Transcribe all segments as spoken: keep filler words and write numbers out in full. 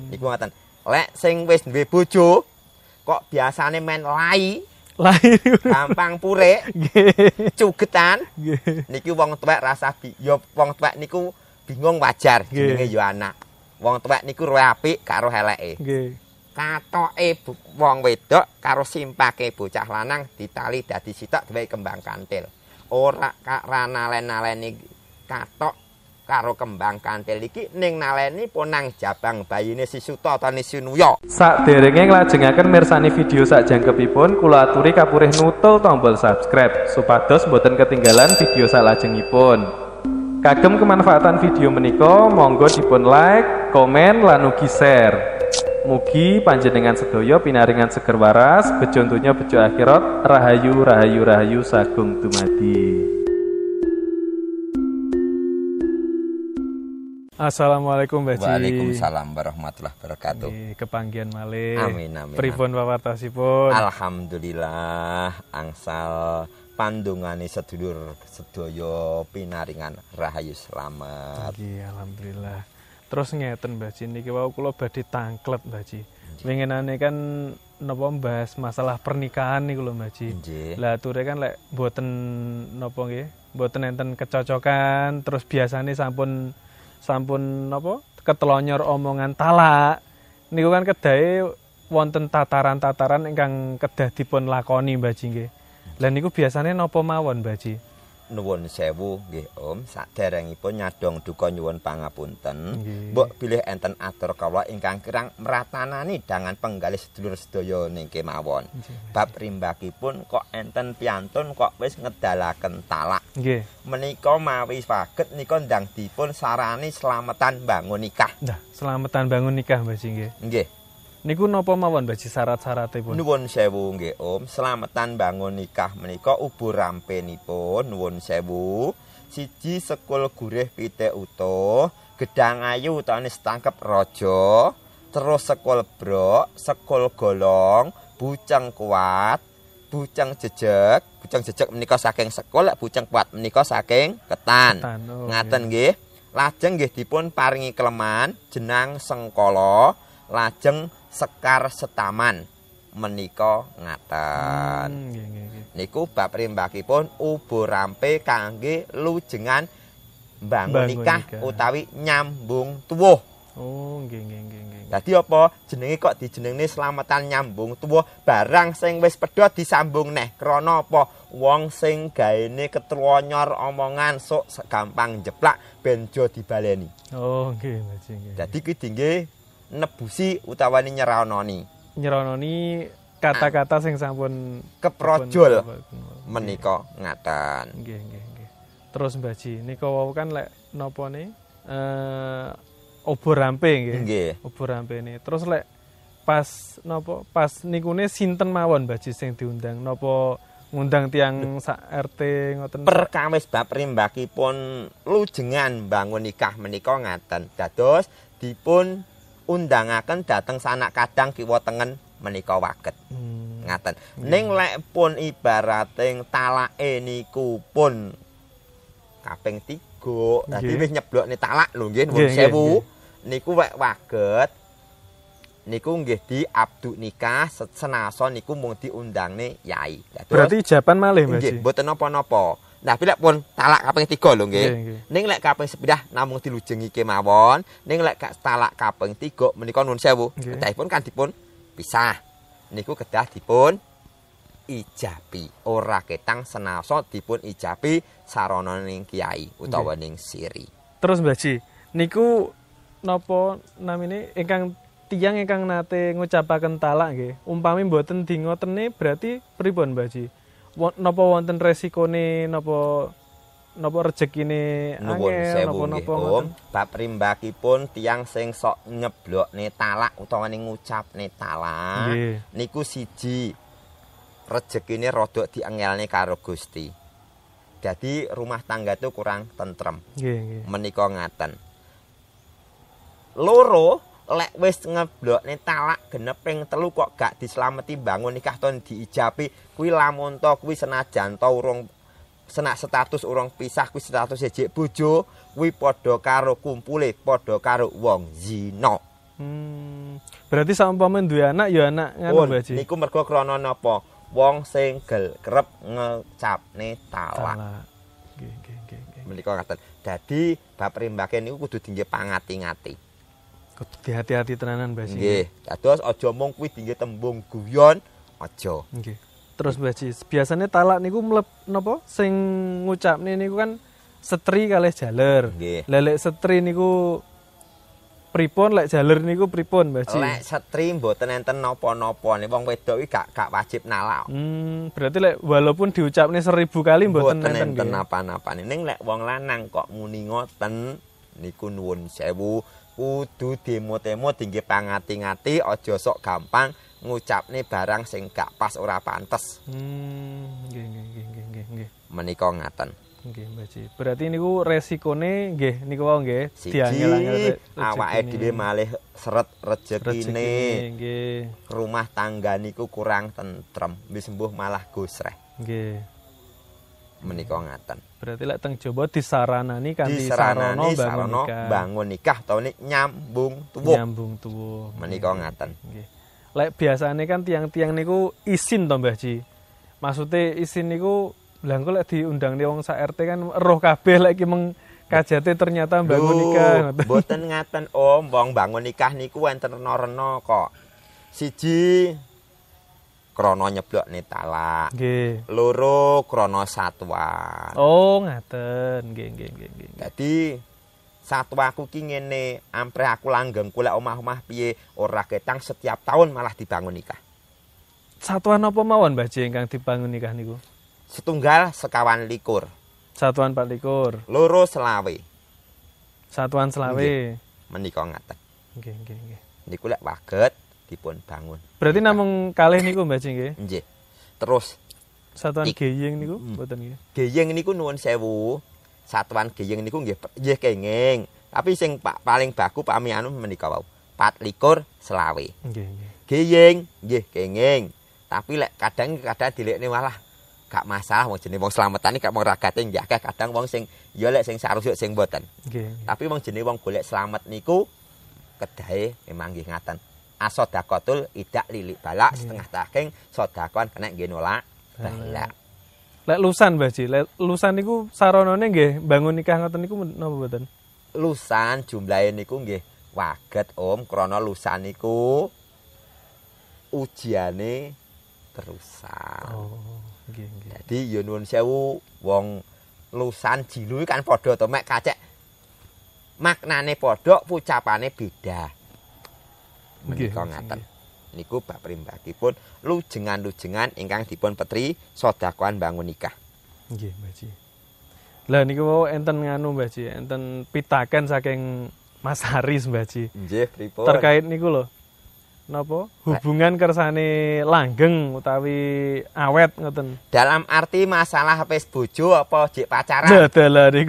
Niku ngoten. Lek sing wis duwe bojo kok biasane men lai. Lai gampang purik. Nggih. Cugetan. Nggih. Niki wong tuwek rasa bi ya wong tuwek niku bingung wajar jenenge ya anak. Wong tuwek niku roe apik karo eleke. Nggih. Katoke wong wedok karo simpake bocah lanang ditali dadi sitok duwe kembang kantil. Ora ra nalen-naleni katok karo kembang kantil iki ning naleni ponang jabang bayine si Suta ta Nisunuya. Sakderenge nglajengaken mirsani video sakjangkepipun kula aturi kapurih nutul tombol subscribe supados boten ketinggalan video salajengipun. Kagem kemanfaatan video menika monggo dipun like, komen lan ugi share. Mugi panjenengan sedaya pinaringan seger waras, bejo donya bejo akhirat, rahayu rahayu rahayu sagung dumadi. Assalamualaikum Mbak Ji. Waalaikumsalam warahmatullahi wabarakatuh. Nggih, kepanggihan malih. Amin amin. Pripun pawartosipun? Alhamdulillah angsal pandungane sedulur sedaya pinaringan rahayu slamet. Nggih, alhamdulillah. Terus ngeten Mbak Ji, niki wau kula badhe tangklet Mbak Ji. Winginane kan napa bahas masalah pernikahan niku lho Mbak Ji. Lah ature kan lek mboten napa nggih, mboten enten kecocokan, terus biasane sampun sampun napa ketelonyor omongan talak. Niku kan kedahe wonten tataran-tataran ingkang kedah dipun lakoni Mbak Ji nggih. Lah niku biasane napa mawon Mbak Ji? Nuwun sewu nggih Om, saderengipun nyadong duka nyuwun pangapunten. Mbok bilih enten atur kawula ingkang kirang mratanani dangan penggalih sedulur sedaya ning kemawon. Bab rimbakipun kok enten piantun kok wis ngedalaken talak. Nggih. Menika mawi saged nika ndang dipun sarani slametan bangun nikah. Nah, slametan bangun nikah Mbak Ji nggih. Nggih. Niku napa mawon Mbak Ji syarat-syaratipun? Nuwun sewu nggih Om, slametan bangun nikah menika ubur rampenipun nuwun sewu. Siji sekul gurih pitik utuh, gedang ayu utawa setangkep raja, terus sekul brok, sekul golong, buceng kuat, buceng jejeg, buceng jejeg menika saking sekul, buceng kuat menika saking ketan. ketan oh, Ngaten nggih. Lajeng nggih dipun paringi kleman jenang sengkala, lajeng sekar setaman menika ngaten. Hmm, nggih, nggih. Niku bab rimbakipun ubur rampe kangge lujengan bangun nikah utawi nyambung tuwuh. Oh, nggih nggih nggih nggih. Dadi apa jenenge kok dijenengne slametan nyambung tuwuh, barang sing wis pedhot disambung neh. Krana apa? Wong sing gaene ketlonyor omongan sok gampang jeplak ben jo dibaleni. Oh, nggih Mbak Ji nggih. Dadi kuwi dingge nebusi utawane nyeranoni. Nyeranoni kata-kata sing sampun keprojol menika ngaten. Nggih nggih nggih. Terus Mbak Ji, nika wau kan lek napane eh obor rampe nggih. Nggih. Obor rampene. Terus lek pas napa pas nikune sinten mawon Mbak Ji sing diundang napa ngundang tiang sak R T ngoten. Perkawis bab rimbakipun lujengan bangun nikah menika ngaten. Dados dipun undangaken dateng sanak kadang kiwa tengen menika waget. Hmm. Ngaten. Hmm. Ning lek pun ibarating talake niku pun kaping tiga. Dadi wis nyeblokne talak lho nggih nuwun sewu. Niku wek waget. Niku nggih diabduk nikah senason niku mung diundangne yai. Dados berarti ijaban malih Mbak Ji. Nggih, mboten napa-napa. Nah, lek pun talak kaping tiga lho nggih. Ning lek kaping sepindah namung dilujengi kemawon, ning lek talak kaping tiga menika nuwun sewu, kedahipun kan dipun pisah. Niku kedah dipun ijabi. Ora ketang senaso dipun ijabi sarana ning kiai utawa ning siri. Terus Mbak Ji, niku napa namine ingkang tiyang ingkang nate ngucapaken talak nggih, umpami mboten di ngotene berarti pripun Mbak Ji? Napa wonten resikone napa napa rezekine angel napa-napa Om, bab rimbakipun tiyang sing sok nyeblokne talak utawa ning ngucapne talak niku siji rezekine rada diengelne karo Gusti. Jadi rumah tangga itu kurang tentrem. Nggih, nggih. Menika ngaten. Loro lek wis ngeblokne talak genep ping telu kok gak dislameti bangun nikah ton diijabi kuwi lamun to kuwi senajan to urung senak status urung pisah kuwi status jek bojo kuwi padha karo kumpule padha karo wong zina. Hmm. Berarti saumpama duwe anak ya anak ngono Mbah Haji. Niku mergo krana napa? Wong sing gel kerep ngecapne talak. Nggih, nggih, nggih, nggih. Menika ngaten. Dadi bab rimbake niku kudu dingge pangati-ngati. Kudu hati-hati tenanan Mbah Haji. Nggih, dados aja mung kuwi dingge tembung guyon, aja. Nggih. Terus Mbah Haji, biasane talak niku mleb napa sing ngucapne niku kan setri kalih jaler. Lah lek setri niku pripun, lek jaler niku pripun Mbah Haji? Lek setri mboten enten napa-napa nih wong wedok iki gak gak wajib nalak. Hmm, berarti lek walaupun diucapne seribu kali mboten enten enten napa-napane. Ning lek wong lanang kok muni ngoten niku nuwun sewu, kudu demo-temo dingge pangati-ngati aja sok gampang ngucapne barang sing gak pas ora pantes. Hmm, nggih nggih nggih nggih nggih. Menika ngaten. Nggih, Mbah Haji. Berarti niku resikone nggih niku wau nggih diangel-angel awake dhewe malih seret rejekine. Nggih. Rumah tangga niku kurang tentrem, wis sembuh malah gosreh. Nggih. Menika ngaten. Berarti lek teng Jawa disaranani kanthi sarana bangun nikah. Bangun nikah utawa nyambung tuwuh. Nyambung tuwuh. Menika ngaten. Nggih. Lek biasane kan tiang-tiang niku isin to Mbah Haji. Maksude isin niku lha engko lek diundang wong sak R T kan roh kabeh lek iki meng kajate ternyata bangun nikah. Mboten ngaten Om, wong bangun nikah niku enten rena-rena kok. Siji krana nyeblokne talak. Nggih. Loro krana satuan. Oh, ngaten. Nggih, nggih, nggih, nggih. Dadi satwaku ki ngene, ampre aku langgengku lek omah-omah piye ora ketang setiap tahun malah dibangun nikah. Satuan apa mawon Mbah Haji ingkang dibangun nikah niku? Setunggal sekawan likur. Satuan pat likur. Loro selawe. Satuan selawe. Menika ngaten. Nggih, nggih, nggih. Niku lek waget dipun bangun. Berarti namung kalih niku Mbah Haji nggih? Nggih. Terus satuan geyeng niku mboten nggih. Geyeng niku nuwun sewu. Satuan geyeng niku nggih nggih kenging. Tapi sing Pak paling baku pami anu menika wau. Pat likur selawe. Nggih, nggih. Geyeng nggih kenging. Tapi lek kadang kadang dilekne malah gak masalah wong jenenge wong slametan iki gak mung ragate nggih akeh kadang wong sing ya lek sing sarusuk sing mboten. Nggih. Tapi wong jenenge wong golek slamet niku kedahe memang nggih ngaten. Asodaqatul idak lilik balak setengah taking sedekah kena nggih nolak balak. Lek lusan Mbah Haji, lek lusan niku saranane nggih bangun nikah ngoten niku napa mboten? Lusan jumlahe niku nggih waget Om krana lusan niku ujiane terusan. Oh. Nggih, nggih. Dadi ya nuwun sewu wong lusan jilu kan padha to mek kacek. Maknane padha, ucapane beda. Menika ngaten. Niku bab primbakipun lujengan-lujengan ingkang dipun petri sedekahan bangun nikah. Nggih, Mbah Haji. Lah niku enten nganu Mbah Haji, enten pitaken saking Mas Haris Mbah Haji. Nggih, pripun? Terkait niku lho. Napa hubungan kersane langgeng utawi awet ngoten. Dalam arti masalah wis bojo apa jek pacaran? Lah dalah niku.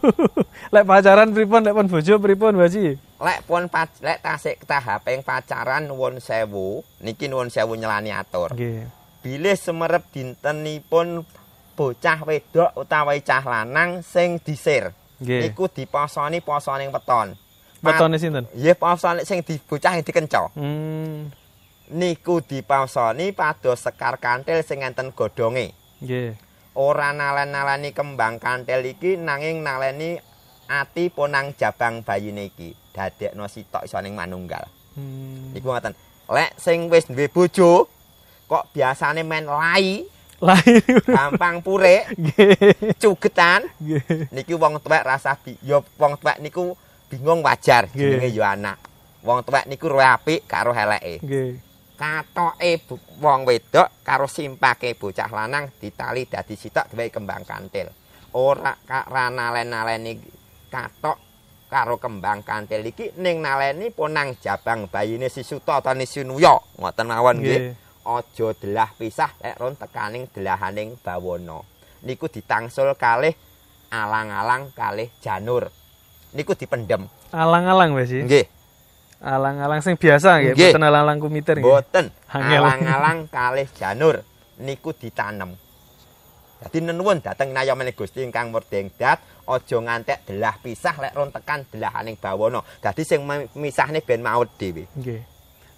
Lek pacaran pripun lek pun bojo pripun Mbah Haji? Lek pun lek tasik tahaping pacaran nuwun sewu, niki nuwun sewu nyelani atur. Nggih. Bilih semerep dintenipun bocah wedok utawi cah lanang sing disir. Niku diposoni posoning weton. Wetone sinten? Nggih, posone sing dibocah sing dikenca. Hmm. Niku diposoni pados sekar kanthil sing enten godhonge. Nggih. Ora nalen-naleni kembang kanthil iki nanging naleni ati ponang jabang bayine iki. Dadekno sitok iso ning manunggal. Hmm. Iku ngoten. Lek sing wis duwe bojo kok biasane men lai. Lai gampang purek. Nggih. Cugetan. Nggih. Niki wong tuwek rasa bi ya wong tuwek niku bingung wajar jenenge ya anak. Wong tuwek niku roe apik karo eleke. Nggih. Katoke wong wedok karo simpake bocah lanang ditali dadi sitok gawe kembang kanthil. Ora ra nalen-naleni katok karo kembang kanthil iki ning naleni ponang jabang bayine si Suta ta Sinuya. Ngoten mawon nggih. Aja delah pisah lek ron tekaning delahaning bawana. Niku ditangsul kalih alang-alang kalih janur. Niku dipendem. Alang-alang Mbah Haji. Nggih. Alang-alang sing biasa nggih, mboten alang-alang kumiter nggih. Mboten. Alang-alang kalih janur niku ditanem. Dadi nenuwun dhateng nayamane Gusti ingkang murdengdat aja ngantek delah pisah lek ron tekan delahaning bawana. Dadi sing misahne ben maut dhewe. Nggih.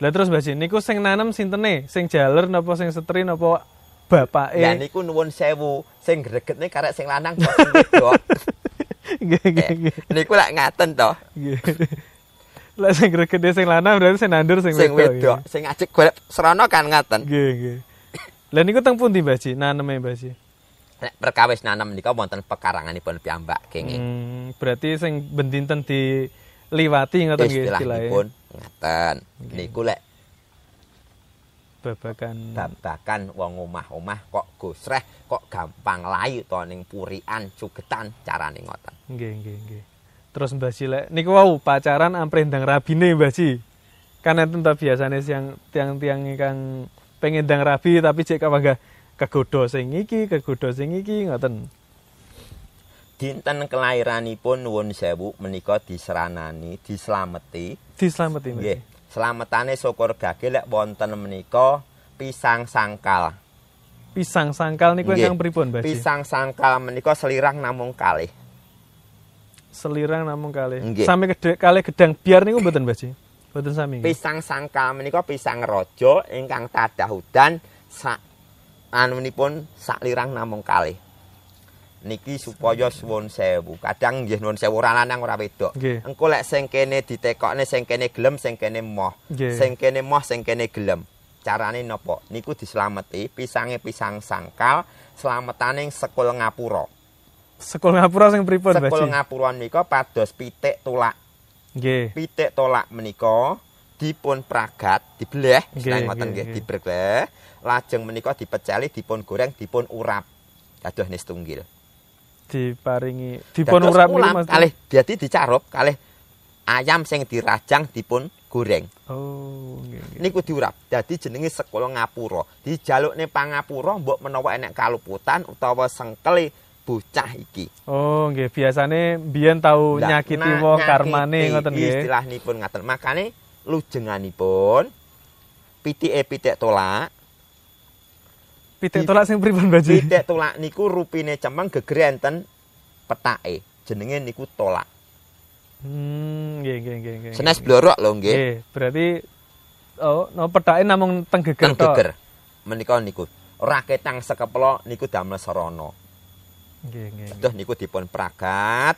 Lah terus Mbah Ji niku sing nanem sintene? Sing jaler napa sing setri napa bapake? Lah niku nuwun sewu, sing gregetne karek sing lanang kok sing wedok. Nggih nggih nggih. Niku lak ngaten to. Nggih. Lah sing gregetne sing lanang berarti sing nandur sing wedok. Sing wedok, sing ajek golek srana kan ngaten. Nggih nggih. Lah niku teng pundi Mbah Ji naneme Mbah Ji? Nek perkawis nanem menika wonten pekaranganipun piyambak kenging. Hmm, berarti sing bendinten di liwati ngoten nggih istilahipun ngaten. Niku lek babakan babakan wong omah-omah kok gosreh kok gampang layu to ning purian cugetan carane ngoten. Nggih nggih nggih. Terus Mbah Ji lek niku wau pacaran ampre ndang rabine Mbah Ji. Kan enten ta biasane siang tiang-tiang ingkang pengen ndang rabi tapi cek kapanggah kegoda sing iki, kegoda sing iki ngoten. Dinten kelairanipun nuwun sewu menika diseranani, dislameti. Dislameti nggih. Slametane syukur gage lek wonten menika pisang sangkal. Pisang sangkal niku ingkang pripun, Mbah Ji? Pisang sangkal menika selirang namung kalih. Selirang namung kalih. Sami gedhe kalih gedang biar niku mboten, Mbah Ji? Mboten sami. Pisang sangkal menika pisang raja ingkang tadah udan sak anunipun sak lirang namung kalih. Niki supaya suwun sewu. Kadang nggih nuwun sewu ora lanang ora wedok. Engko lek sing kene ditekokne sing kene gelem sing kene moh. Sing kene moh sing kene gelem. Carane napa? Niku dislameti pisange pisang sangkal, slametane sekul ngapura. Sekul ngapura sing pripun, Mbah Ji? Sekul ngapura menika pados pitik tulak. Nggih. Pitik tolak menika dipun pragat, dibleh, ngoten nggih, dibleh. Lajeng menika dipeceli, dipun goreng, dipun urap. Kados nis tunggil. Diparingi dipun urap niku Mas. Kalih dadi dicarup, kalih ayam sing dirajang dipun goreng. Oh, nggih nggih. Niku diurap. Dadi jenenge sekul ngapura. Dijalukne pangapura mbok menawa enek kaluputan utawa sengkele bocah iki. Oh, nggih, biasane mbiyen tau nyakiti wong karmane ngoten nggih. Istilahnipun ngaten. Makane lujenganipun pitike pitik tolak. Pitik tolak sing pripun, Mbah Ji? Pitik tolak niku rupine cemeng gegere enten petake. Jenenge niku tolak. Hmm, nggih nggih nggih nggih. Senes blorok lho nggih. Nggih, berarti oh, no petake namung teng geger tok. Geger. Menika niku raketang sekeplo niku damel sarana. Nggih nggih. Terus niku dipun pragat.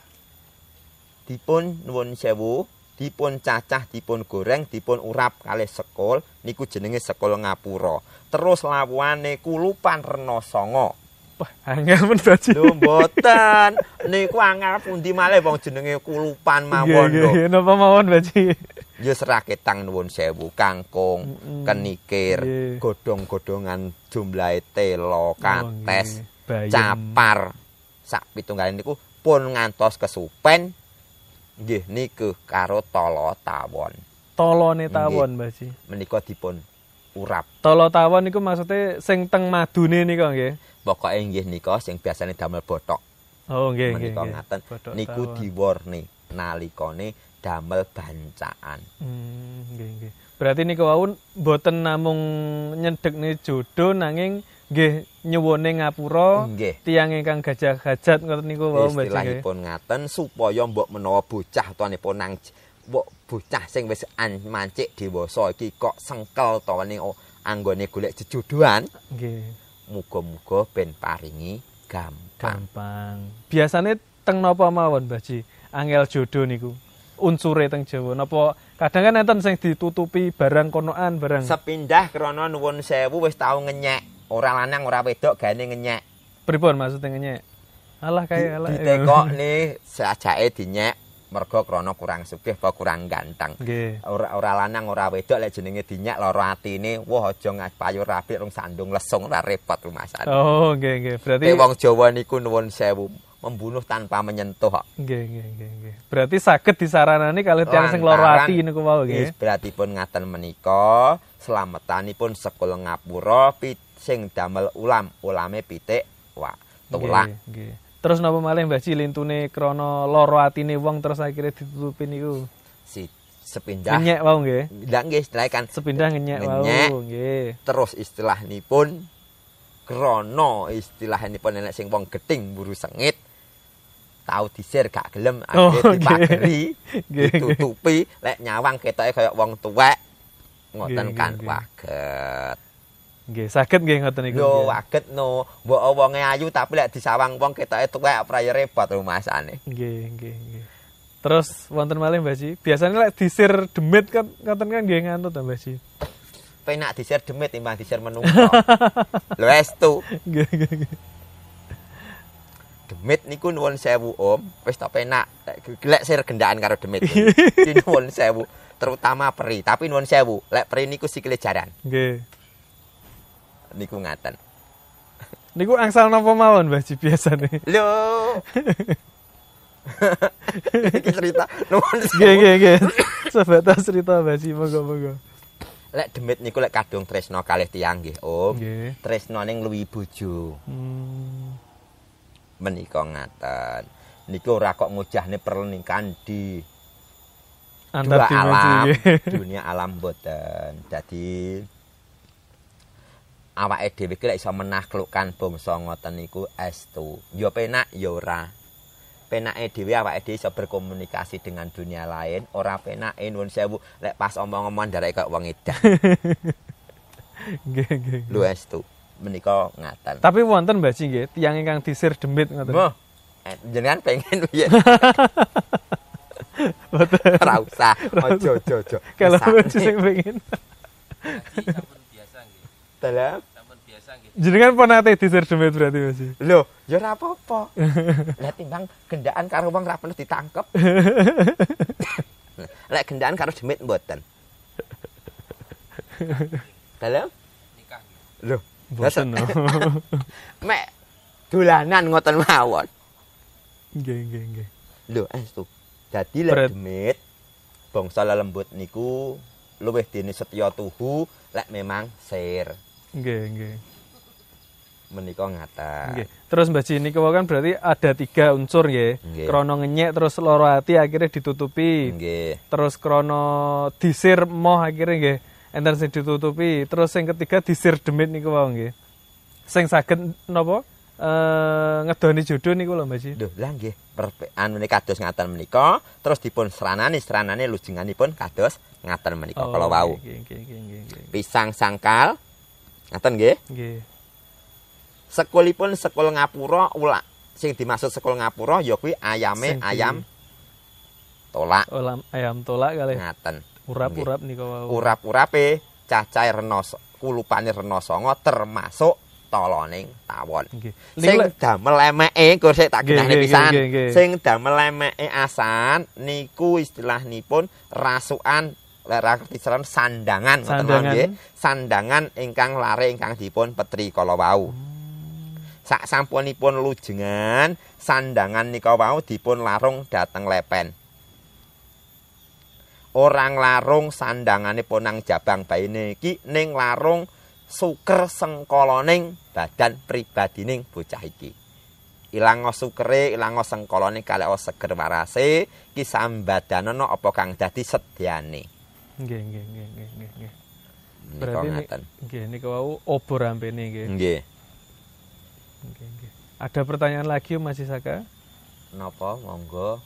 Dipun nuwun sewu, dipun cacah, dipun goreng, dipun urap kalih sekul, niku jenenge sekul ngapura. Terus lawuane kulupan rena sanga. Wah, angel men Mbah Ji. Lho mboten. Niku angel pundi malih wong jenenge kulupan mawon lho. Nggih, napa mawon Mbah Ji? Ya seraketang nuwun sewu, kangkung, mm-hmm. kenikir, yeah. godhong-godhongan jumlahe telo, kates, oh, capar. Sak pitunggalipun niku pun ngantos kesupen. Nggih niku karo tolo tawon. Tolone tawon, Mbah Ji. Menika dipun urap. Tolo tawon niku maksude sing teng madune nika nggih. Pokoke nggih nika sing biasane damel bothok. Oh nggih nggih. Menika ngaten. Niku diwarni nalikane damel bancaan. Hmm nggih nggih. Berarti niku wau mboten namung nyedhekne jodoh nanging nggih nyuwune ngapura tiyang ingkang gajah-gajat ngoten niku wau Mbah Ji. Istilahipun ngaten supaya mbok menawa bocah utawanipun nang mbok bocah sing wis mancik dewasa iki kok sengkel to ning anggone golek jejodohan. Nggih. Muga-muga ben paringi gampang. Gampang. Biasane teng napa mawon Mbah Ji? Angel jodoh niku. Unsure teng Jawa napa kadang kan enten sing ditutupi barang konoan barang. Sepindah krana nuwun sewu wis tau ngenyek. Ora lanang ora wedok gane ngenyek. Pripun maksudnya ngenyek? Alah kaya alah. Ditekokne sajake dinyek mergo krana kurang sugih apa kurang ganteng. Nggih. Ora ora lanang ora wedok lek jenenge dinyek lara atine, wah aja ngapayu rapi rung sandung lesung ora repot rumasan. Oh, nggih nggih. Berarti wong Jawa niku nuwun sewu membunuh tanpa menyentuh kok. Nggih nggih nggih nggih. Berarti saged disaranani kalih tiyang sing lara ati niku wau nggih. Berarti pun ngaten menika slametanipun sekul ngapura sing damel ulam, ulame pitik wak tulak. Nggih nggih. Terus napa malih Mbah Ji lintune krana lara atine wong terus akhire ditutupi niku? Si sepindah. Ngenyek wau nggih. Ndak nggih istilah kan sepindah ngenyek wau nggih. Terus istilahnipun krana istilahnipun enek sing wong gething mburu sengit tau disir gak gelem akhire dipageri ditutupi lek nyawang ketoke kaya wong tuwek ngoten kan waget. Nggih, saged nggih ngoten niku. Yo waget no, mbok wonge ayu tapi lek disawang wong ketoke tuwek prayo repot rumasane. Nggih, nggih, nggih. Terus wonten malih Mbah Ji, biasanya lek disir demit kan ngoten kan nggih ngantut ta Mbah Ji. Penak disir demit timbang disir menungso. Lho estu. Nggih, nggih, nggih. Demit niku nuwun sewu Om, wis tak penak. Lek sir gendaan karo demit. Iki nuwun sewu, terutama peri, tapi nuwun sewu, lek peri niku sikile jaran. Nggih. Niku ngaten. Niku angsal napa mawon Mbah Ji biasane? Lho. Iki cerita nuwun sewu. Nggih, nggih, nggih. Sebatas cerita Mbah Ji, monggo-monggo. Lek demit niku lek kadung tresno kalih tiyang nggih Om. Nggih. Tresnane ngluwi bojo. Hmm. Menika ngaten. Niku ora kok ngujahne pernikahan di Antar dua alam, dimensi. dunia alam boten. Dadi awake dhewe ki lek iso menaklukkan bangsa ngoten niku estu. Ya penak ya ora. Penake dhewe awake dhewe iso berkomunikasi dengan dunia lain, ora penake nuwun sewu lek pas omong-omong ndarek kok wong edan. Nggih, nggih. Lho estu. Menika ngaten. Tapi wonten Mbah Ji nggih, tiyang ingkang disir demit ngoten. Mbah, jenengan pengen piye? Boten. Ora usah. Aja, aja, aja. Kalau Mbah Ji sing pengen. Sampun biasa nggih. Dalam Sampun biasa nggih. Jenengan pun nate disir demit berarti Mbah Ji. lho, ya ora apa-apa. Lah timbang gendaan karo wong ora perlu ditangkep. Lek gendaan karo demit mboten. Dalam Nikah nggih. lho, Boten. no. mek dolanan ngoten mawon. Nggih, nggih, nggih. Lho, estu. Dadi lek Berat. demit bangsa lelembut niku luwih dene setya tuhu lek memang sir. Nggih, nggih. Menika ngaten. Nggih. Terus Mbah Ji niku kan berarti ada tiga unsur nggih. Nggih. Krono ngenyek terus loro ati akhirnya ditutupi. Nggih. Terus krono disir moh akhirnya nggih enten sing ditutupi. Terus sing ketiga disir demit niku wae nggih. Sing saged napa? Eh ngedoni jodoh niku lho Mbah Ji. Lho, lah nggih, anune kados ngaten menika, terus dipun seranani, seranane lujenganipun kados ngaten menika kala wau. Nggih, nggih, nggih, nggih, nggih. Pisang sangkal. Ngaten nggih. Nggih. Sekulipun sekul ngapura ulak. Sing dimaksud sekul ngapura ya kuwi ayame Sing di- ayam tolak. Olam ayam tolak kalih Ngaten. urap-urap niku wau. Urap-urape cacahe rena kulupane rena sanga termasuk toloning tawon. Nggih. Sing Niku lek- damel emeke engko sik tak Nggih, gendahne nggih, pisan. nggih, nggih. Sing damel emeke asan niku istilahnipun rasukan lara kisaran sandangan ngoten Sandangan. nggih. Sandangan ingkang lare ingkang dipun petri kala wau. Sak sampunipun lujengan, sandangan nika wau dipun larung dhateng lepen. Orang larung sandanganipun nang jabang baine iki ning larung suker sengkoloning badan pribadining bocah iki. Ilang sukere, ilang sengkolone kalih seger warase iki sambadanana apa kang dadi sedyane. Nggih, nggih, nggih, nggih, nggih, nggih. Menika Berarti ni- ngaten. nggih niku wau obor rampene nggih. Nggih. Nggih, nggih. Ada pertanyaan lagi Mas Isaka? Napa monggo?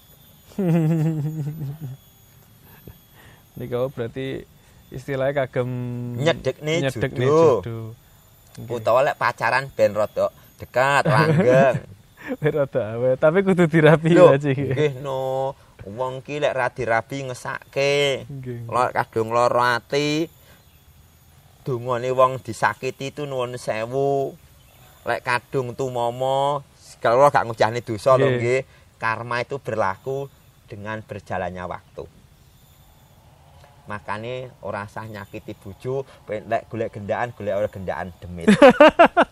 Niku wau berarti istilahnya kagem Nyedekne nyedekne jodoh. jodoh. Nggih. Utawa lek pacaran ben rada dekat, langgeng. Rada awet, tapi kudu dirapi Lho, aja. nggih no. Wong ki lek ra dirabi ngesake. Nggih. Lor kadung lara ati. Dungane wong disakiti itu nuwun sewu. Lek kadung tumomo, kalau gak ngujahne dosa lho Nggih. nggih. Karma itu berlaku dengan berjalannya waktu. Makane ora usah nyakiti bojo, lek golek gendaan, golek ora gendaan demit.